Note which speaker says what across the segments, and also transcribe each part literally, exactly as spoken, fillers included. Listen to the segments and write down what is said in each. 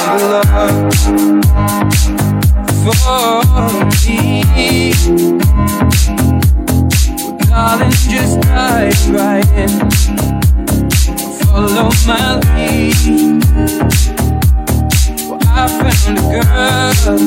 Speaker 1: love for me. Well, darling, just dive right in. Follow my lead. Well, I found a girl,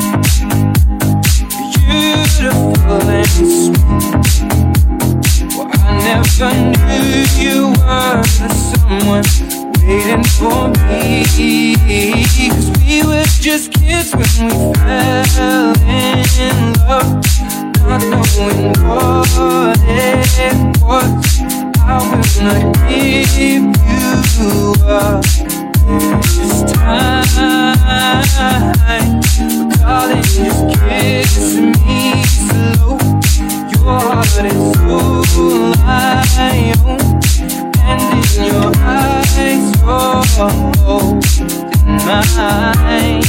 Speaker 1: beautiful and sweet. Well, I never knew you were the someone waiting for me. Cause we were just kids when we fell in love, not knowing what it was. I will not give you up this time. But darling, just kiss me slow. Your heart is so light, and in your eyes, oh, in mine,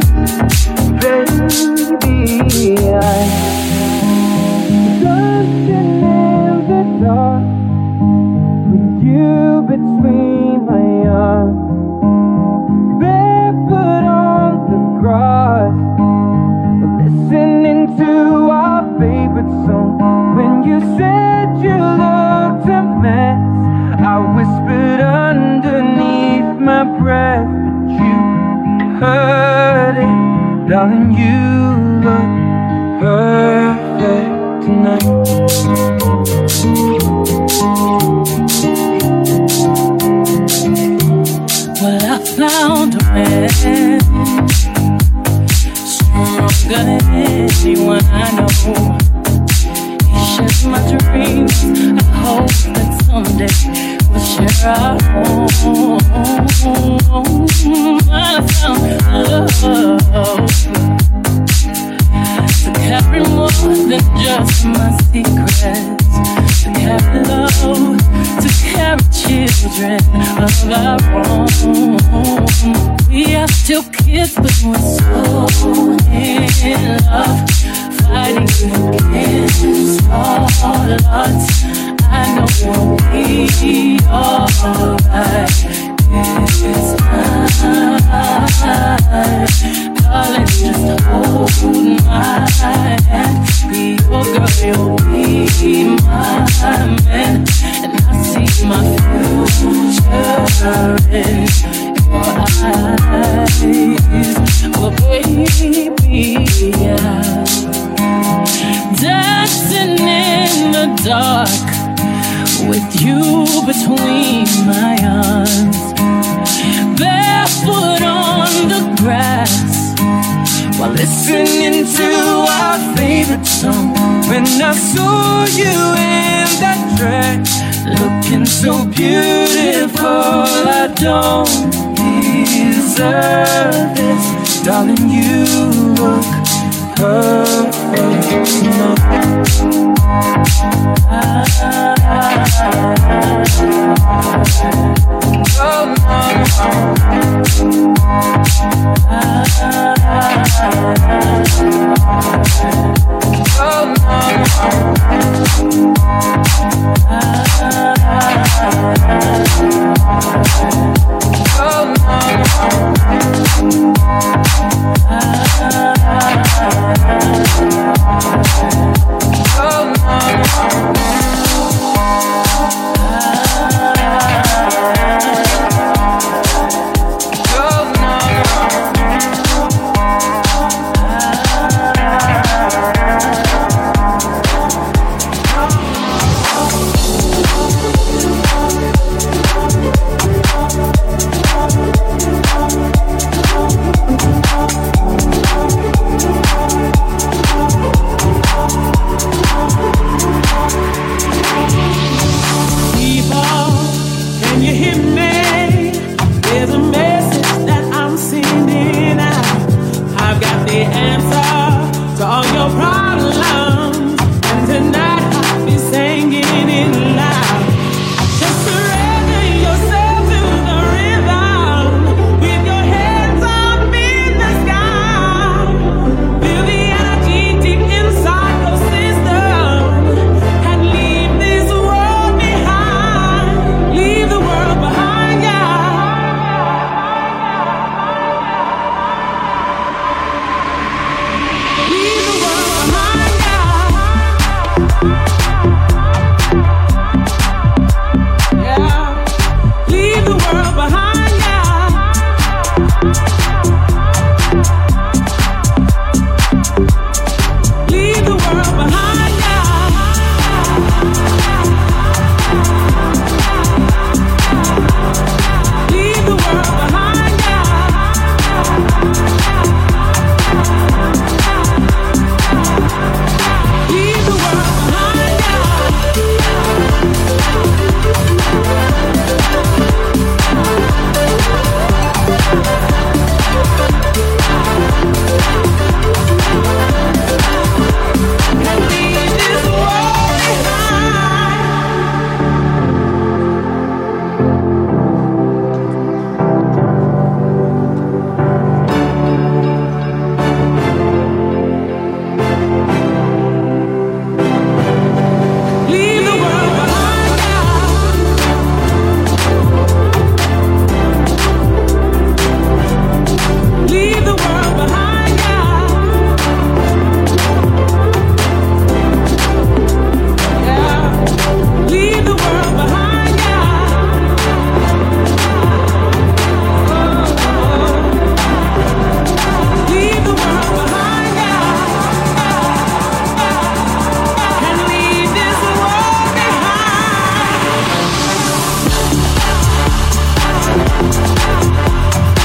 Speaker 1: baby, I'm dancing in the dark. You between my arms, barefoot on the grass, listening to our favorite song. When you said you looked a mess, I whispered underneath my breath, but you heard it, darling. You look perfect tonight.
Speaker 2: Well, I found a man stronger than anyone I know. He shares my dreams. I hope that someday we'll share our home. I found love to carry more than just my secrets, to carry love, to carry children of our own. We are still kids, but we're so in love, fighting against all odds. I know we'll be alright. It's time, darling, just hold my hand. Be your girl, you'll be my man, and I see my future in your eyes. Oh baby, yeah. Dancing in the dark with you between my arms, barefoot on the grass, while listening to our favorite song. When I saw you in that dress, looking so beautiful, I don't deserve this, darling. You look perfect tonight. Oh,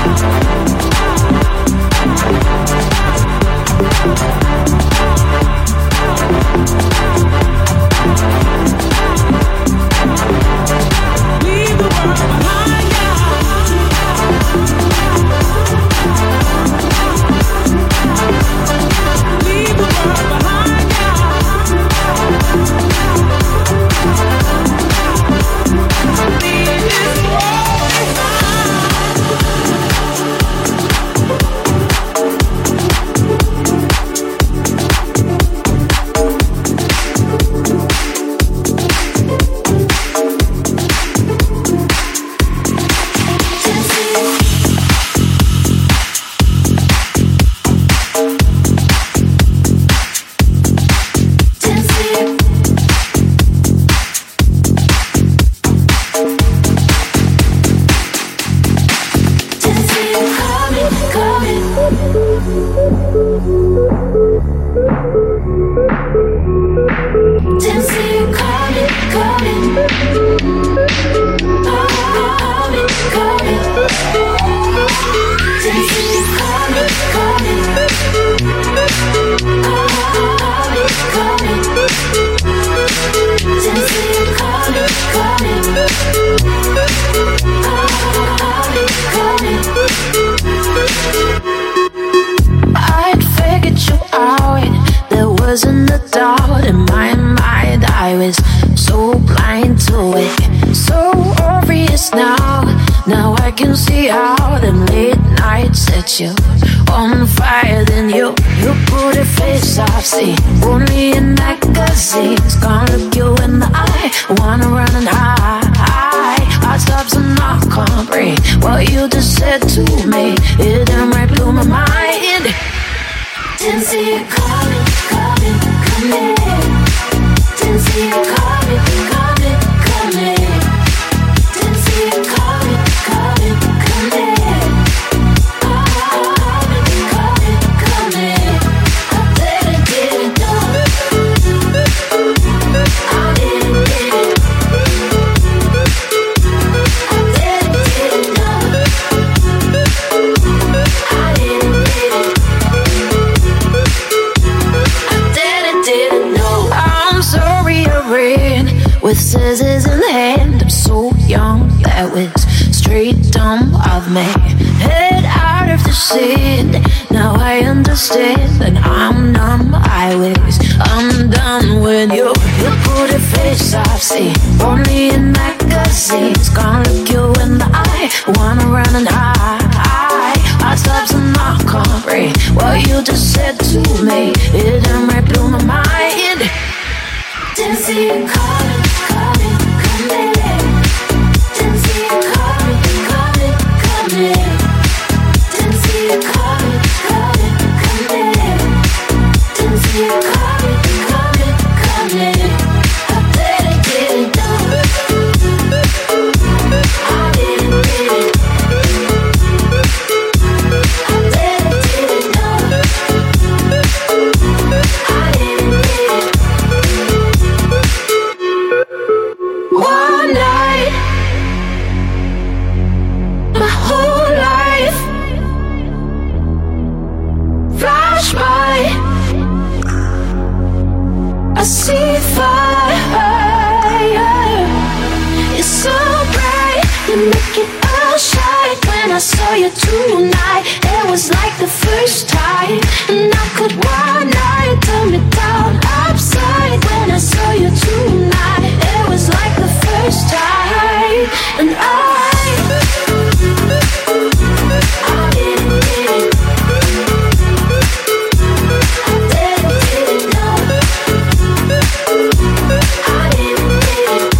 Speaker 2: With scissors in hand, I'm so young, that was straight dumb of me. Head out of the scene, now I understand that I'm numb, I was undone when you, you put a face I've seen only in magazines. Gonna look you in the eye, wanna run and hide. Hot stops and I can't breathe what you just said to me. It done right blew my mind. Didn't see you coming, coming, coming. Didn't see you coming, coming, coming. Didn't see you coming, coming, coming. Didn't see you coming, coming, coming. I didn't, didn't know. I didn't, didn't. I didn't, didn't know. I didn't, didn't. One night, my whole life flash by. I see fire. It's so bright, you make it all shine. When I saw you tonight, it was like the first time, and I could one night turn me down upside. When I saw you tonight, it was like the first time, and I I didn't, didn't I didn't, didn't know. I didn't, didn't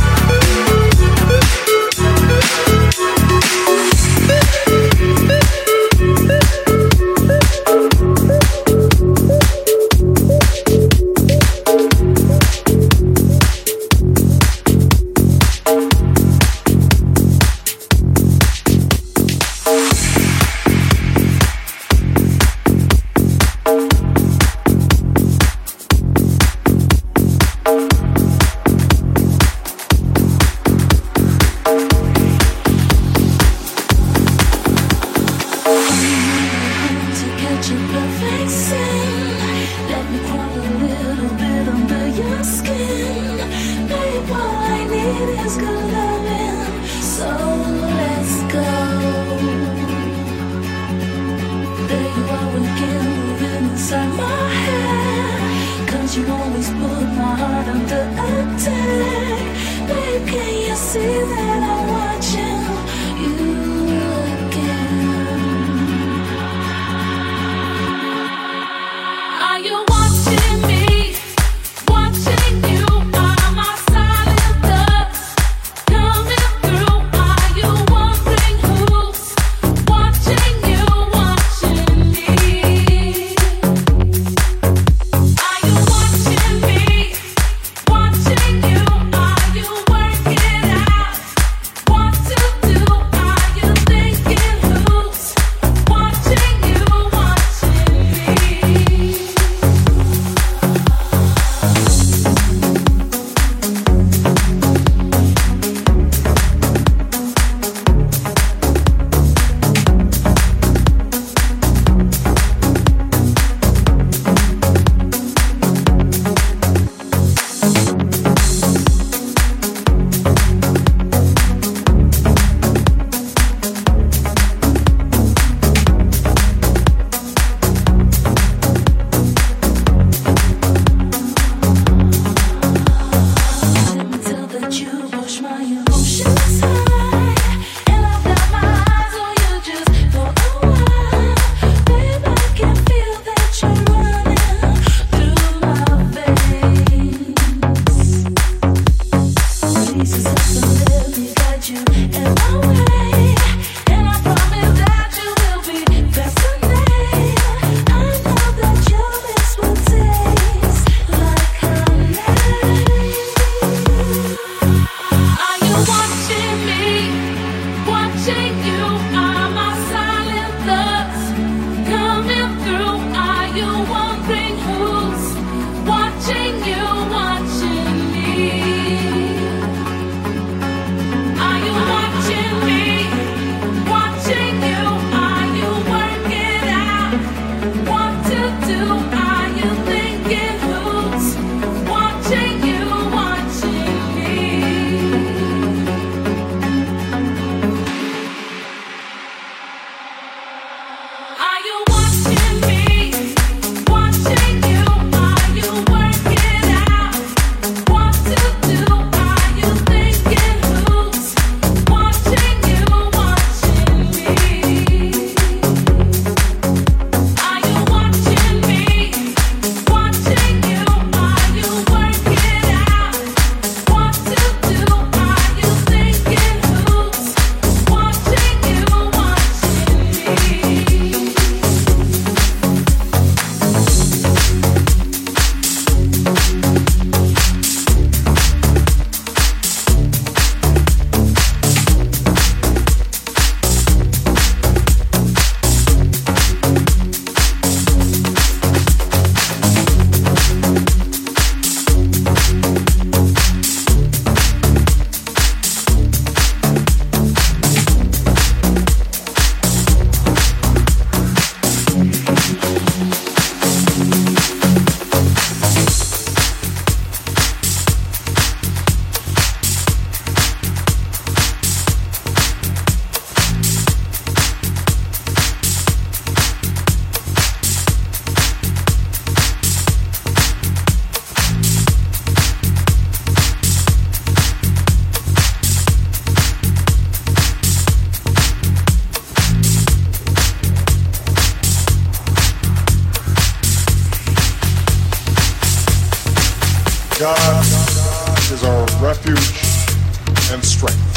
Speaker 3: God is our refuge and strength,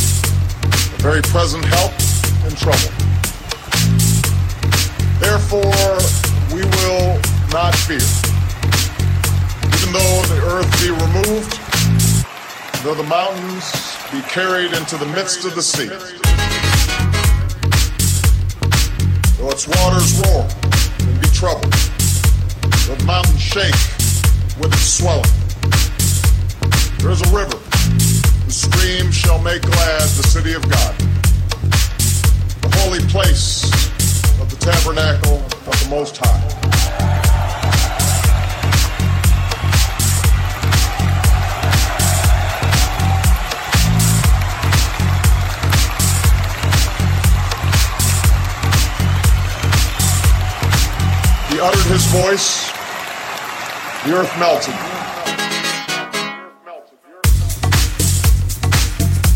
Speaker 3: a very present help in trouble. Therefore, we will not fear. Even though the earth be removed, though the mountains be carried into the midst of the sea, though its waters roar and be troubled, though the mountains shake with its swelling. There is a river, whose stream shall make glad the city of God, the holy place of the tabernacle of the Most High. He uttered his voice, the earth melted.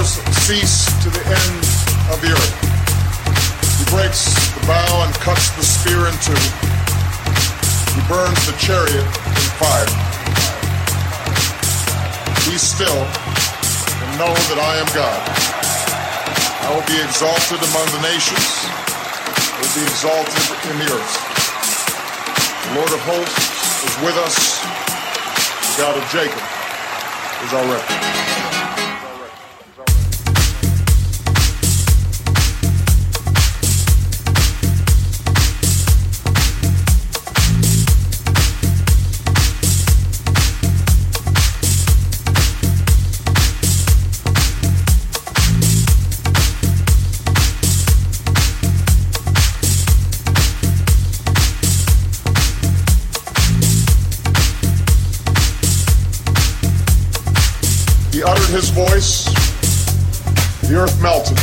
Speaker 3: waters cease to the end of the earth. He breaks the bow and cuts the spear in two. He burns the chariot in fire. Be still and know that I am God. I will be exalted among the nations. I will be exalted in the earth. The Lord of hosts is with us. The God of Jacob is our refuge. His voice, the earth melted.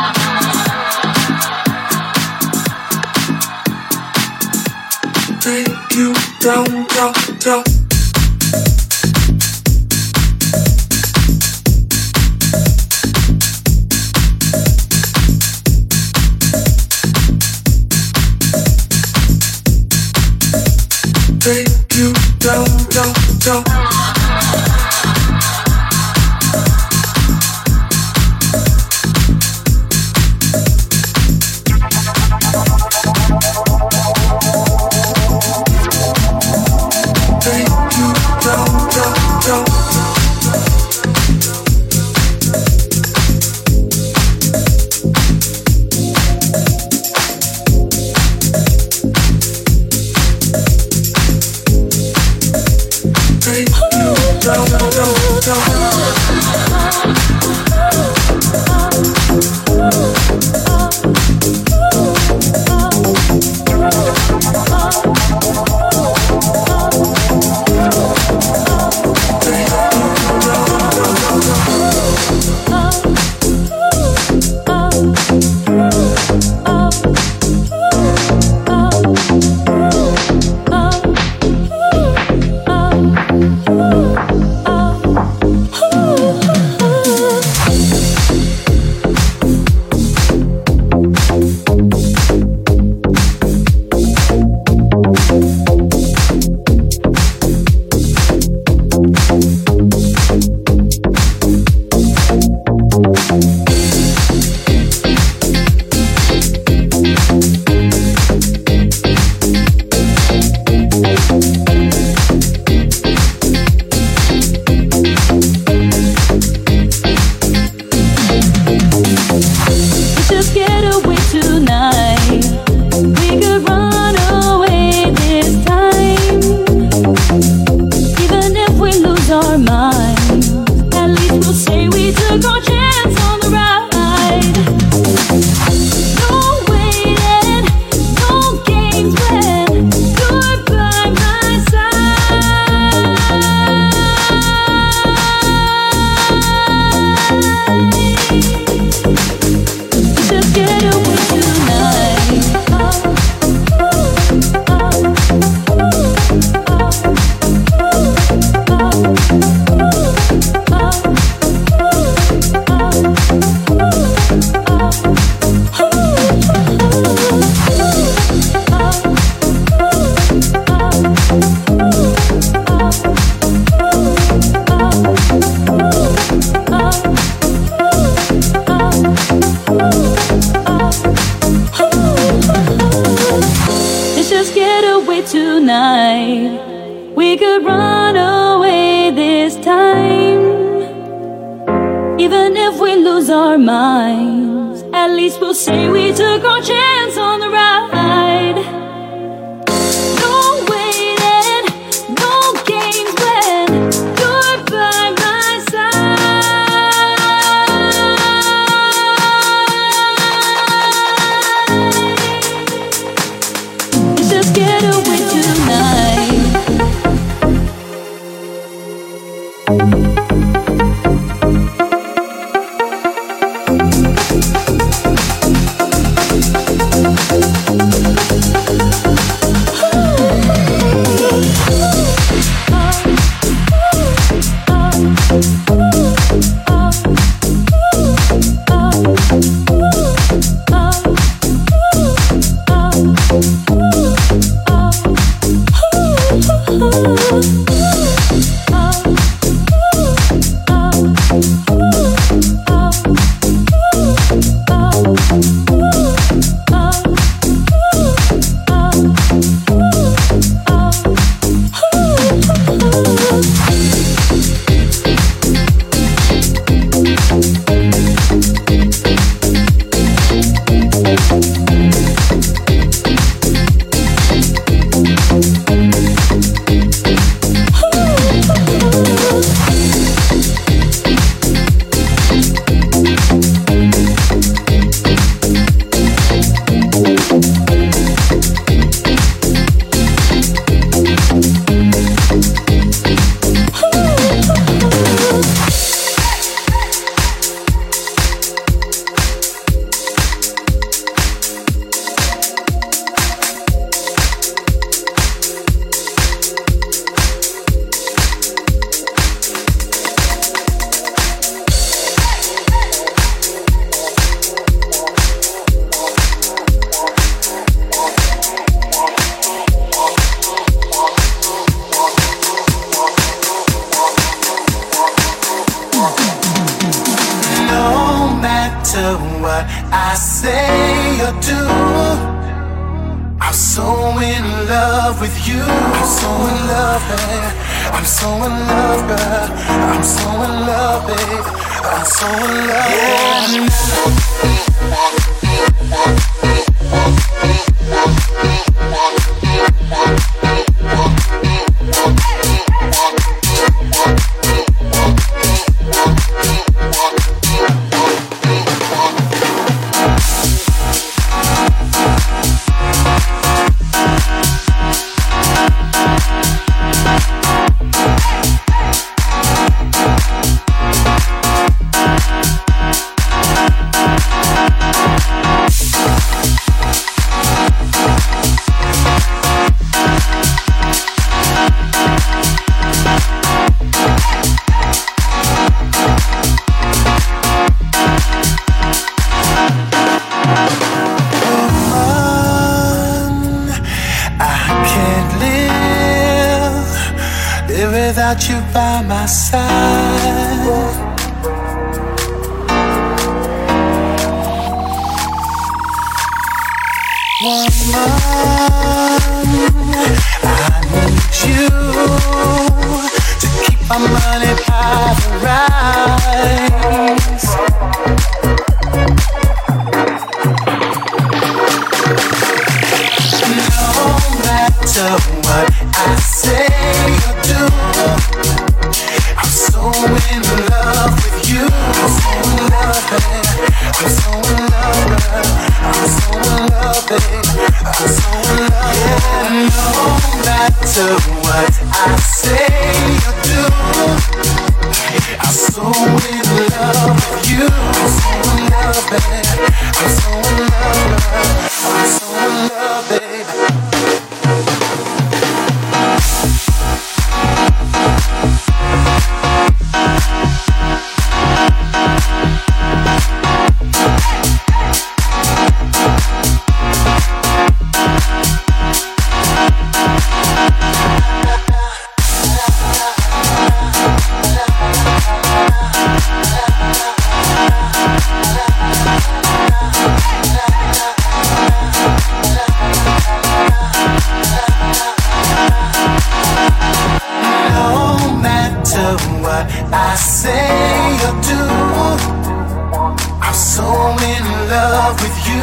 Speaker 2: Take you down, down, down. Take you down, down, down.
Speaker 4: We'll be right back. in love with you. I'm so in love, babe. I'm so in love, girl. I'm so in love, babe. I'm so in love. Without you by my side, woman, I need you to keep my money by the rise. No matter what I say or do, I'm so in love with you. I'm so in love, babe. I'm so in love, girl. I'm so in love, babe. I'm so in love, yeah. No matter what I say or do, I'm so in love with you. I'm so in love, babe. I'm so in love, girl. I'm so in love, babe. I say or do, I'm so in love with you.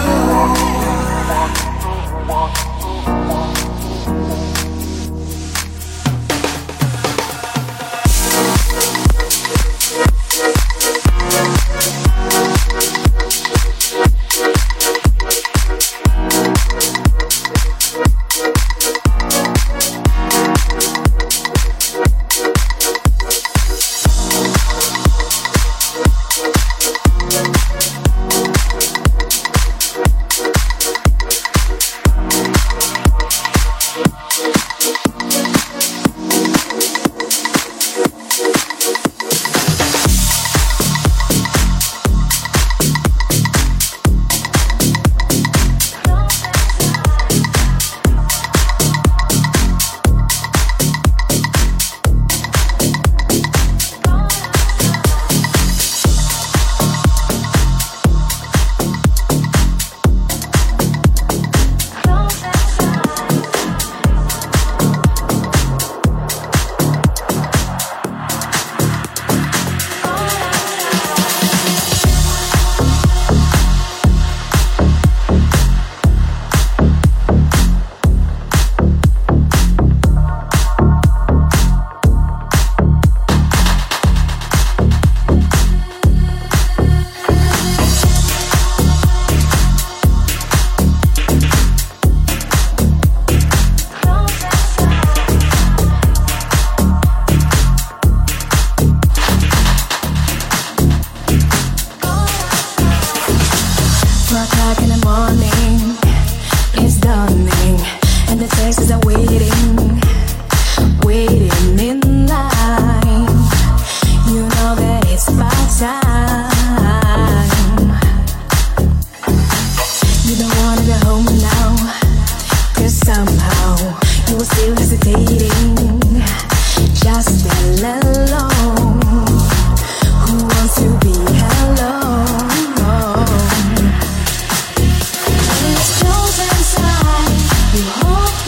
Speaker 5: You hold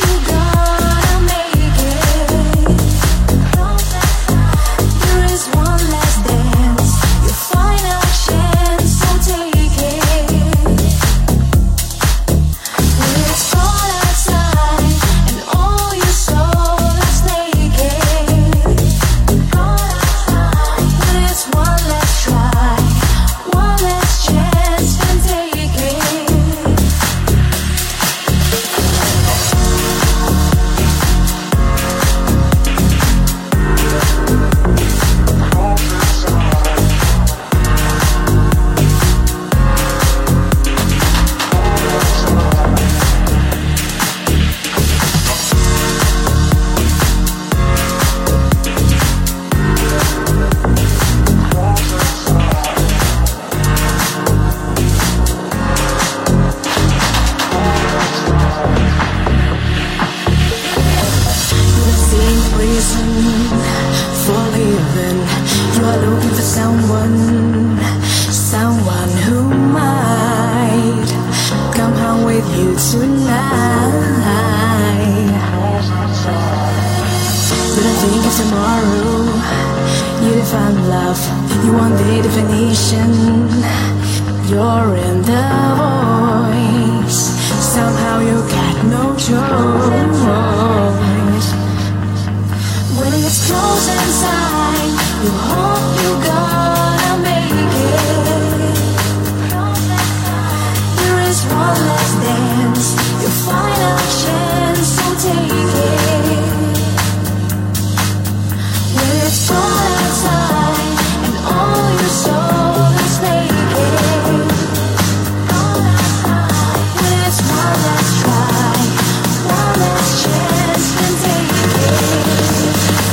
Speaker 2: someone, someone who might come home with you tonight. Didn't think of tomorrow, you define love, you want the definition. You're in the voice, somehow you got no choice. When it gets close inside, you hope you're gonna make it. There is one last dance, your final chance, so take it. When it's cold outside and all your soul is naked. When it's one last try, one last chance, then take it.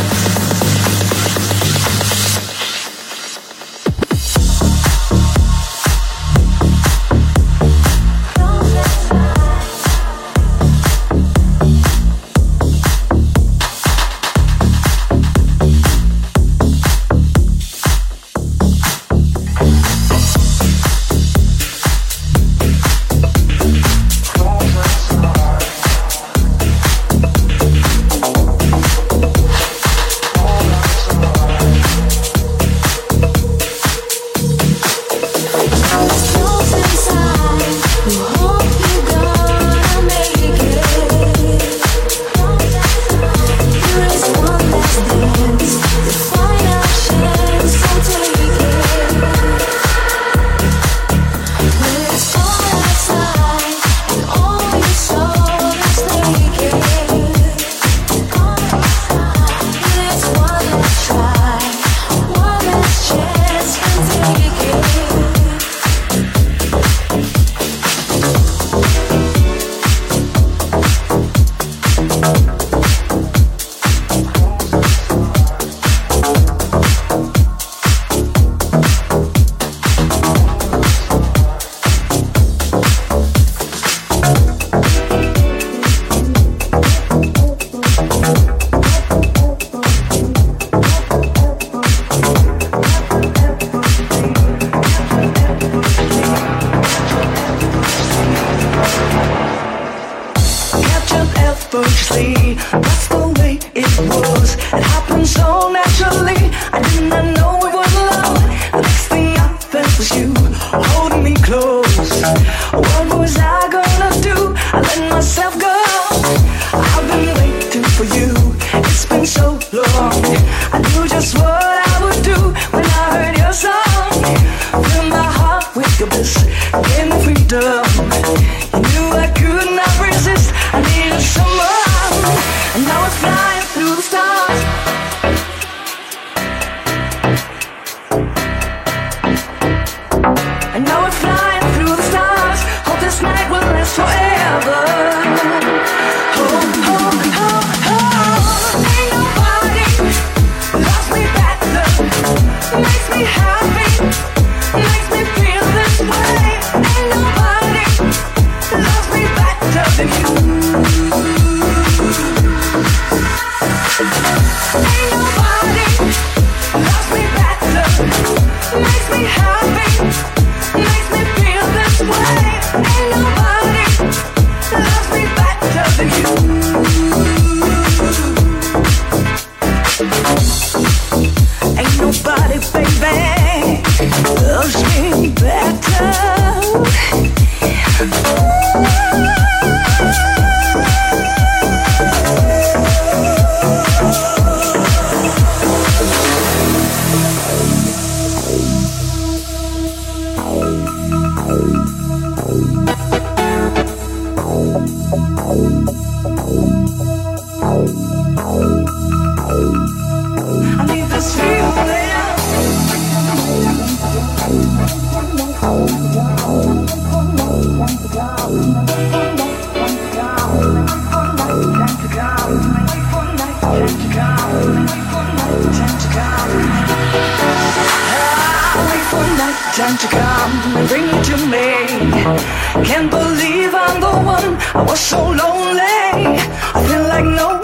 Speaker 2: Time to come and bring it to me. Can't believe I'm the one. I was so lonely. I feel like no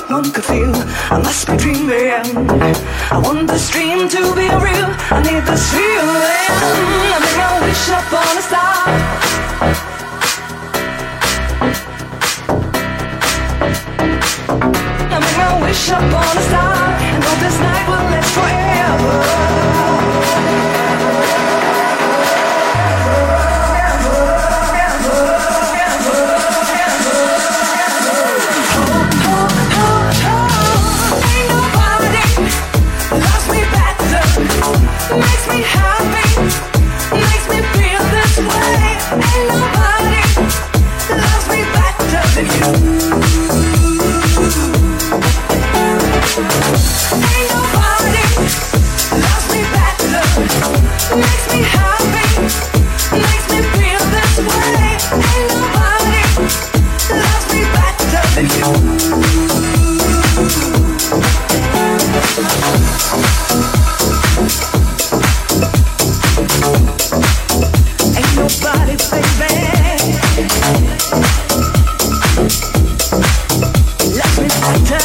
Speaker 2: one could feel. I must be dreaming. I want this dream to be real. I need this feeling. I make a wish upon a star. I make my wish upon a star, and hope this night will last forever. Makes me happy, makes me feel this way. Ain't nobody loves me better than you. Ain't nobody loves me better. Makes me happy, makes me feel this way. Ain't nobody loves me better than you. Ain't nobody, baby, loves me better.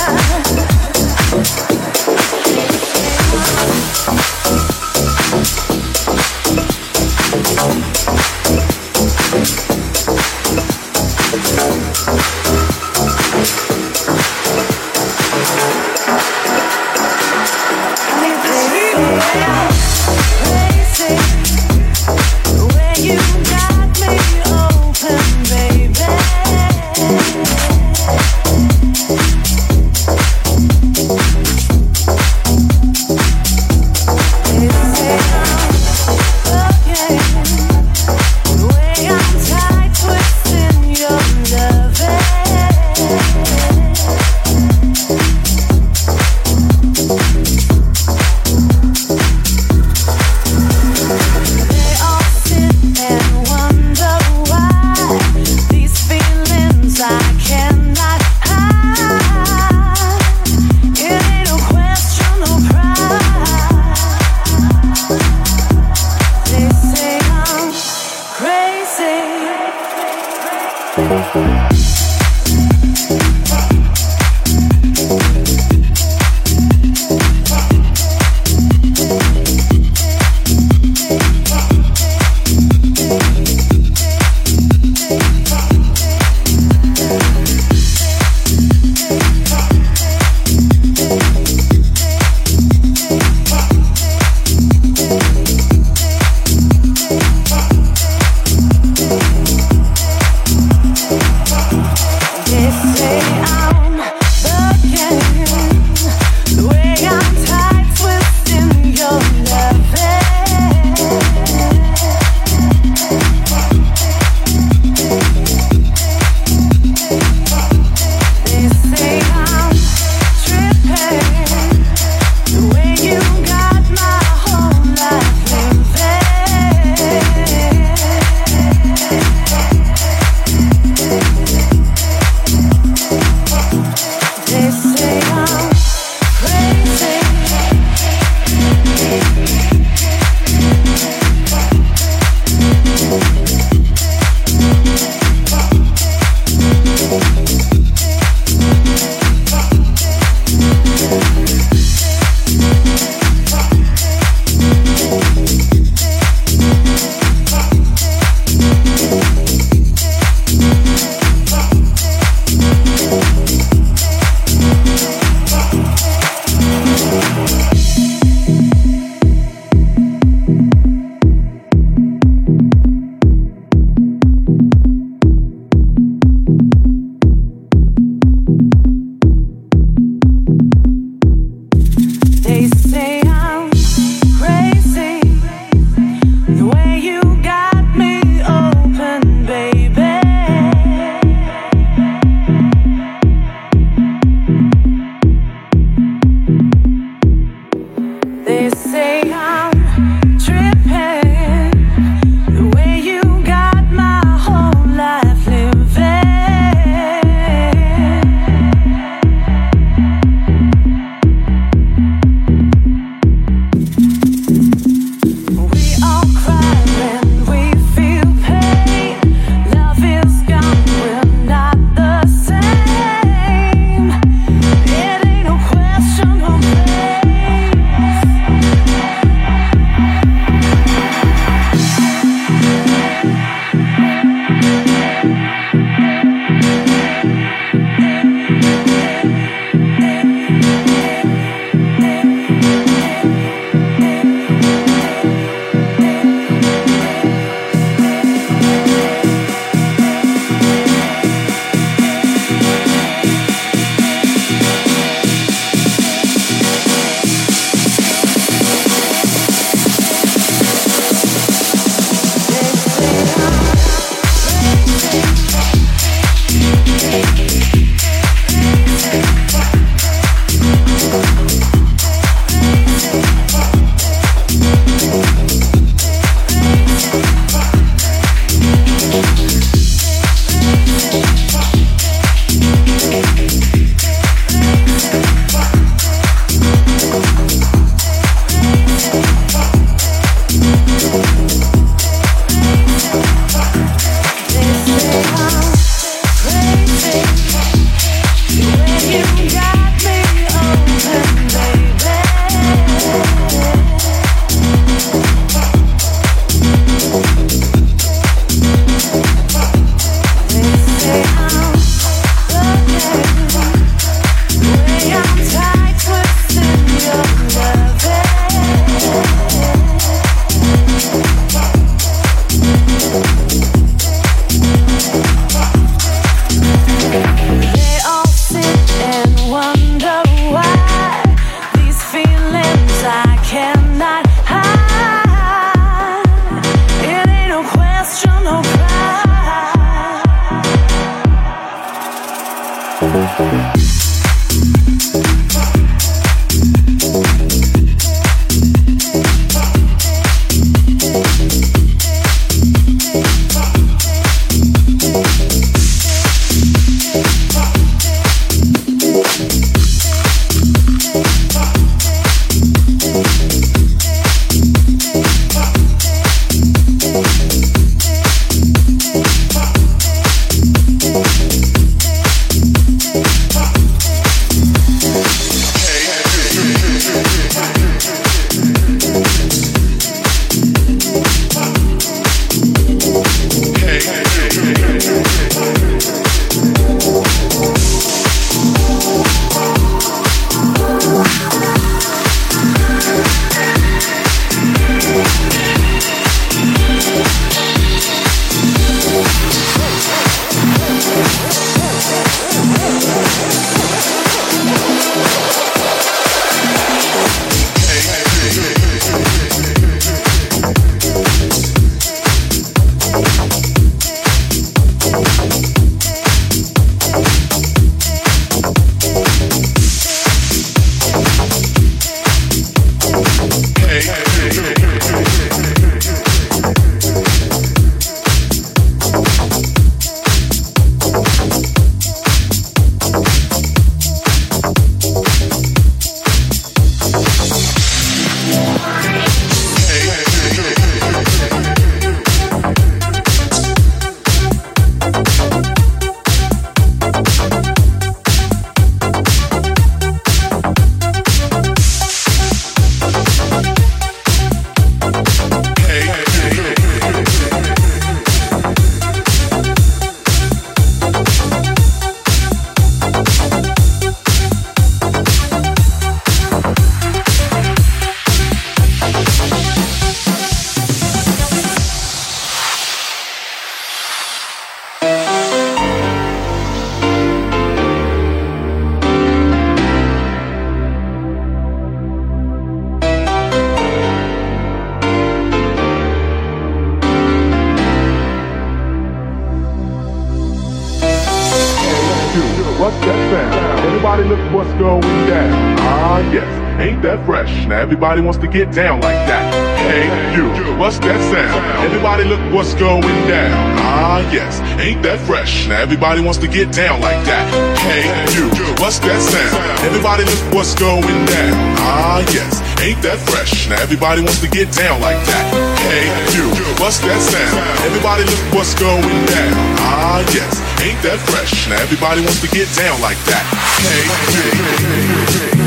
Speaker 5: Everybody look what's going down. Ah, yes. Ain't that fresh? Now everybody wants to get down like that. Hey, you, what's that sound? Everybody look what's going down. Ah, yes, ain't that fresh? Now everybody wants to get down like that. Hey, you, what's that sound? Everybody look what's going down. Ah, yes, ain't that fresh? Now everybody wants to get down like that. Hey, you, what's that sound? Everybody look what's going down. Ah, yes, ain't that fresh? Now everybody wants to get down like that. Hey, you.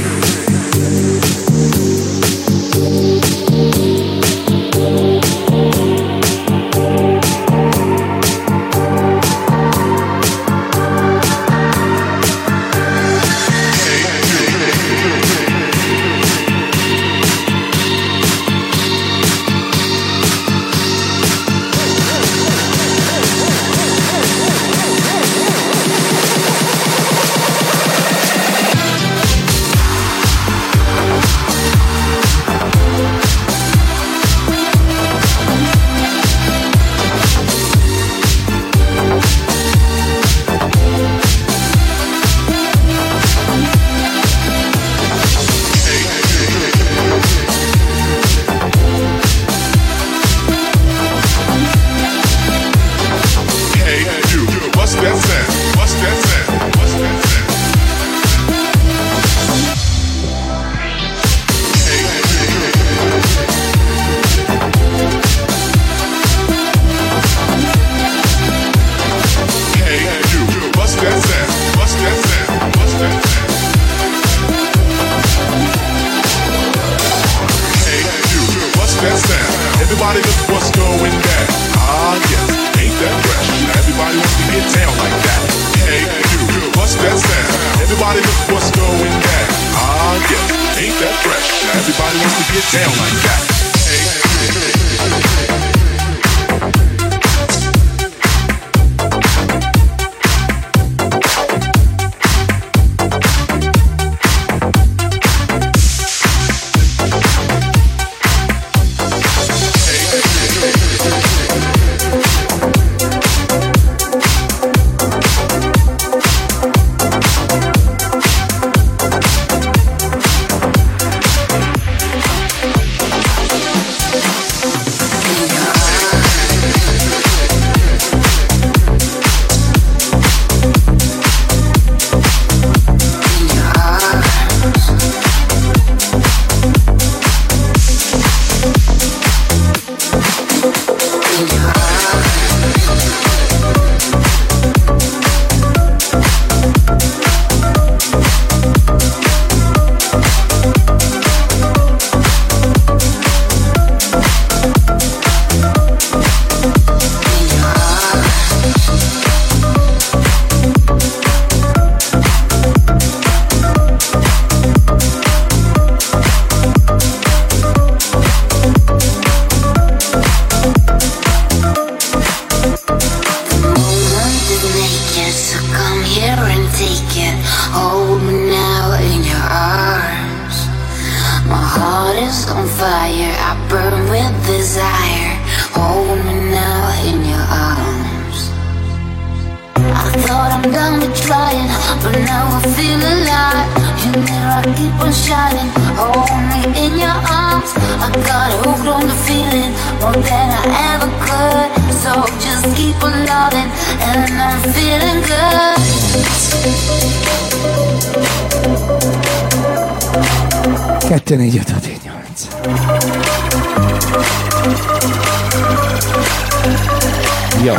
Speaker 6: kettő négy öt hat hét nyolc. Jó.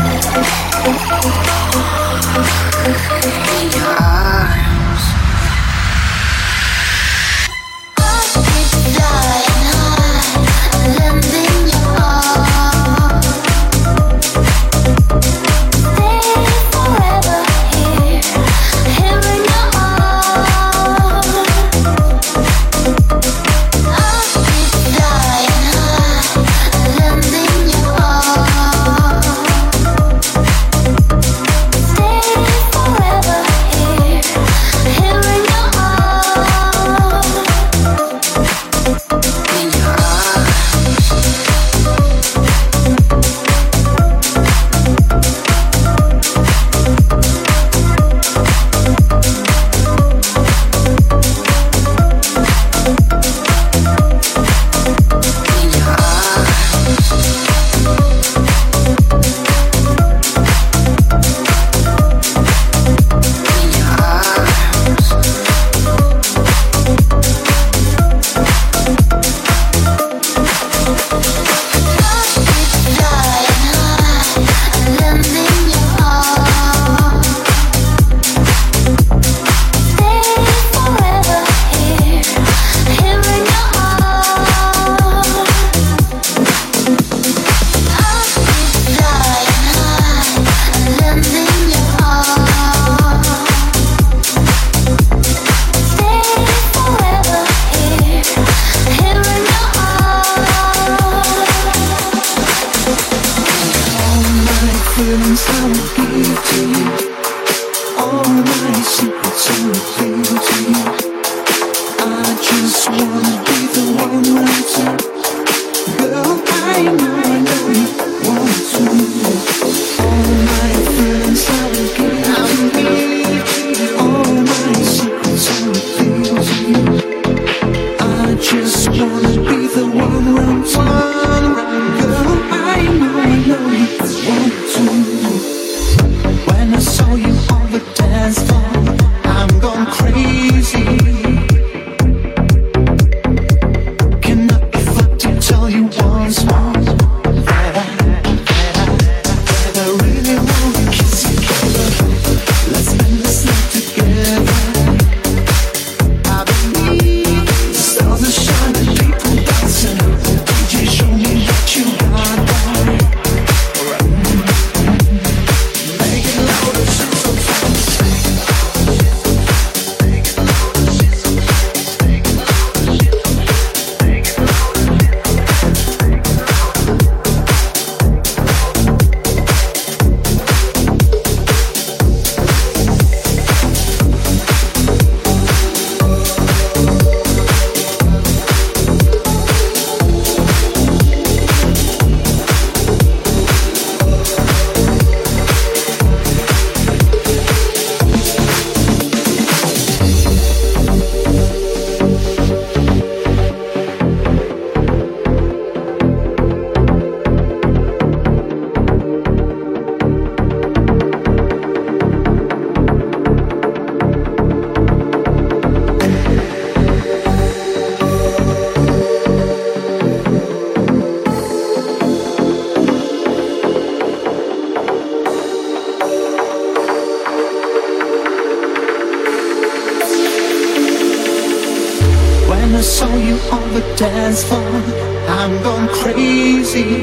Speaker 4: when I saw you on the dance floor. I'm gone crazy.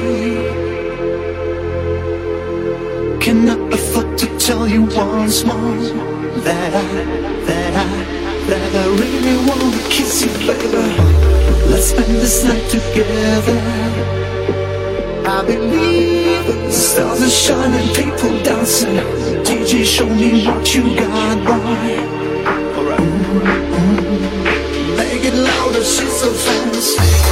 Speaker 4: Cannot afford to tell you once more that I, that I, that I really wanna kiss you, baby. Let's spend this night together. I believe the stars are shining, people dancing. D J, show me what you got, boy. Alright. Mm-hmm. Make it louder, she's so fast.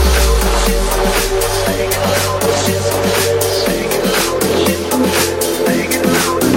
Speaker 4: Make it louder, she's so fast. Make it louder, she's so fast. Make it louder.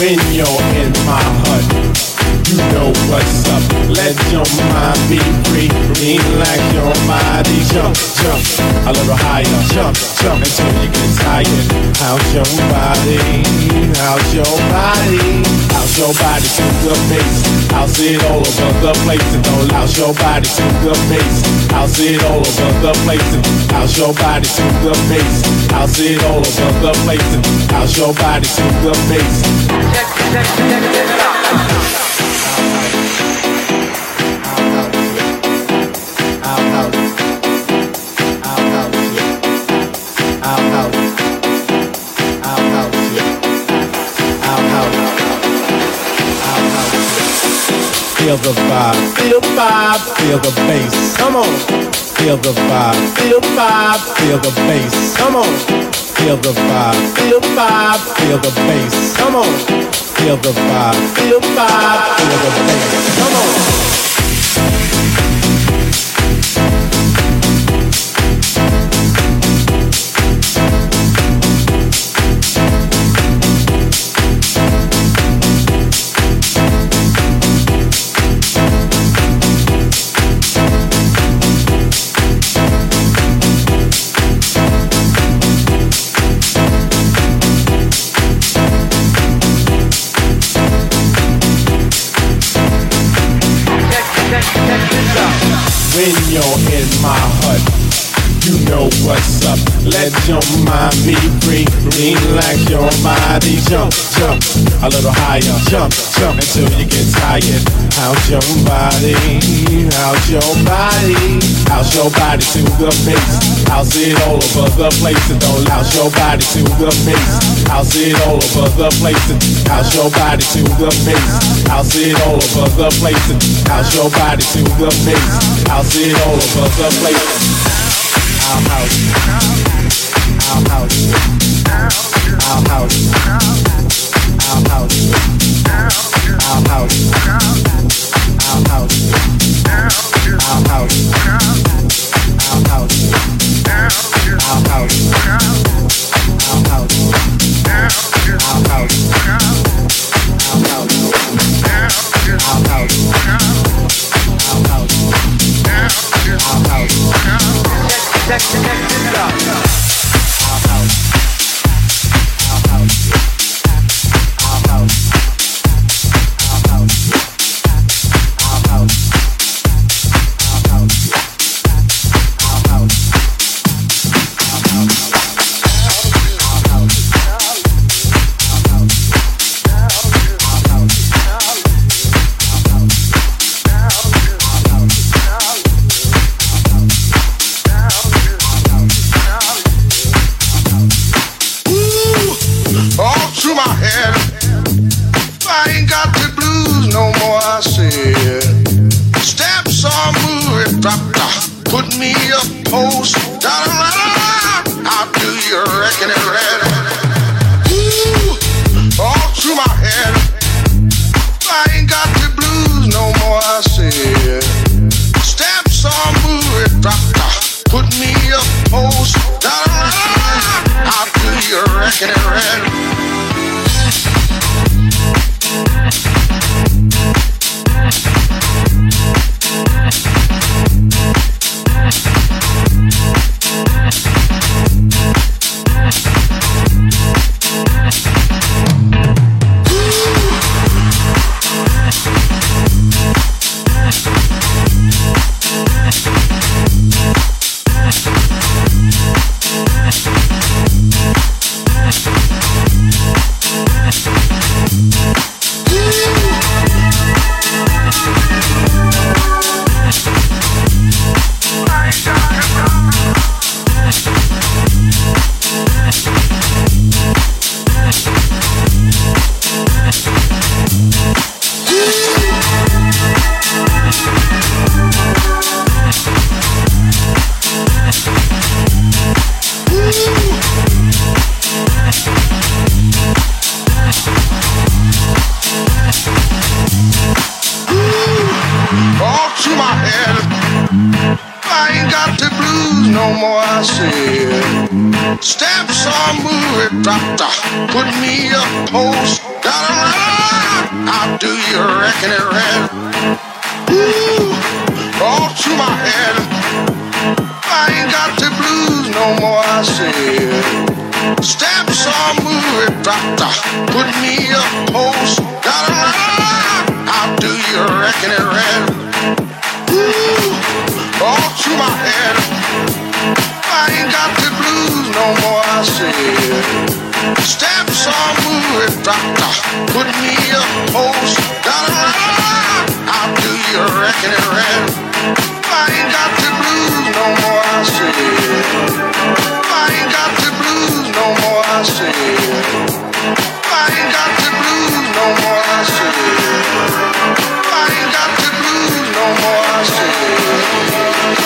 Speaker 7: When you're in my hut, you know what's up. Let your mind be free. Relax your body. Jump, jump a little higher. Jump, jump until you get tired. How's your body? How's your body? How's your body to the bass? I'll see it all over the place. And don't louse your body to the bass. I'll see it all over the place. And how's your body to the bass? I'll see it all over the place. And how's your body to the bass?
Speaker 1: Check, check, check, check it out.
Speaker 7: Feel the vibe, feel the vibe, feel the bass. Come on. Feel the vibe, feel the vibe, feel the bass. Come on. Feel the vibe, feel the vibe, feel the bass. Come on. Feel the vibe, feel the vibe, feel the bass. Come on. When you're in my hut, you know what's up. Let your mind be free. Relax your body. Jump, jump a little higher. Jump, jump until you get tired. How's your body? How's your body? How's your body to the bass? I'll see it all over the place. And don't louse your body to the bass. I'll see it all over the place. And how's your body to the bass? I'll see it all over the place. And how's your body to the bass? I'll see it all over the place. Our house, our house, our house, our house, our house, our house, our house, our house, our house, our house, our house,
Speaker 1: Check, check, check it out.
Speaker 7: Our house, our house, our house, our house, our house, our house, our house, our house.
Speaker 3: Put me a post, da da da da. How do you reckon it read? Ooh, all through my head. I ain't got the blues no more. I said, stamps on movie, drop da. Put me a post, da da da da. How do you reckon it read? I ain't got the blues no more, I said. Stamp some movie doctor, put me a post. Gotta run. How do you reckon it ran? Ooh, all to my head. I ain't got the blues no more, I said. Stamp some movie doctor, put me a post. Gotta run. How do you reckon it ran? Ooh, all to my head. I ain't got the blues no more, I said. Stamp some movie doctor, put me a post. Gotta run. How do you reckon it ran? I ain't got the blues no more, I said. I ain't got the blues no more, I said. I ain't got the blues no more, I said. I ain't got the blues no more, I said.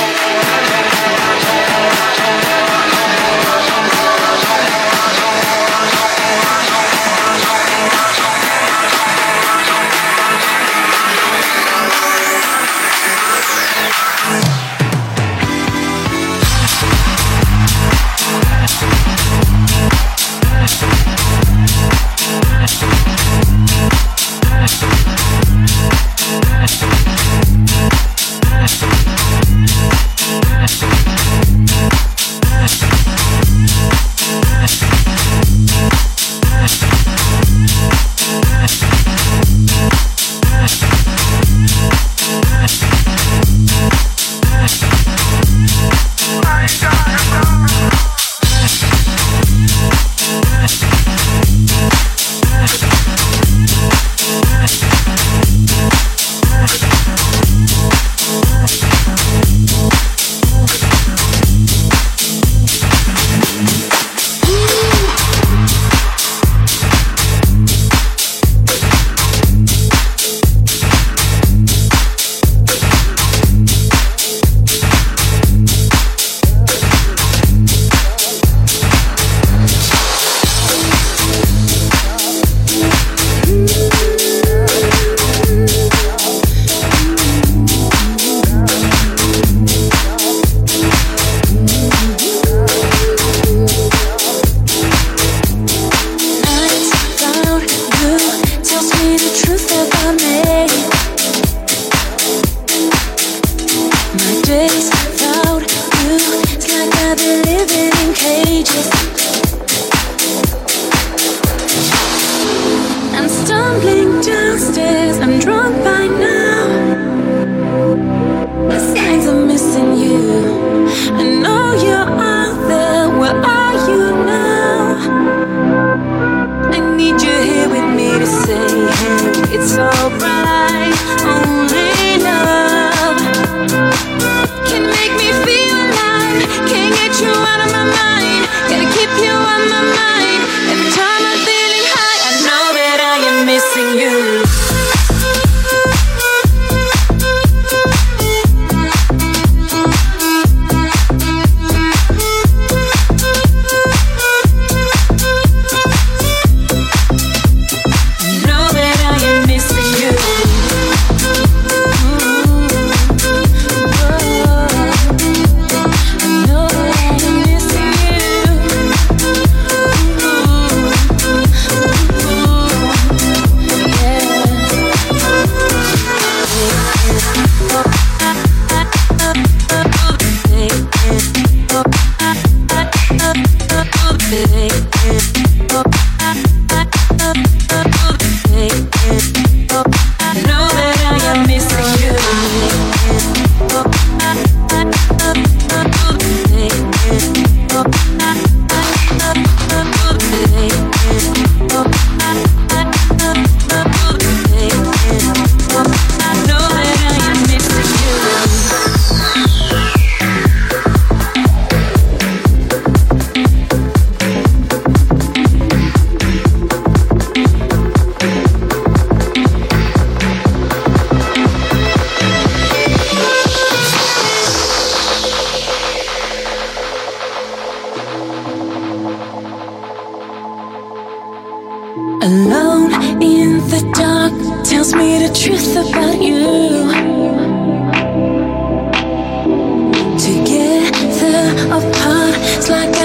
Speaker 2: Alone in the dark tells me the truth about you. Together apart, it's like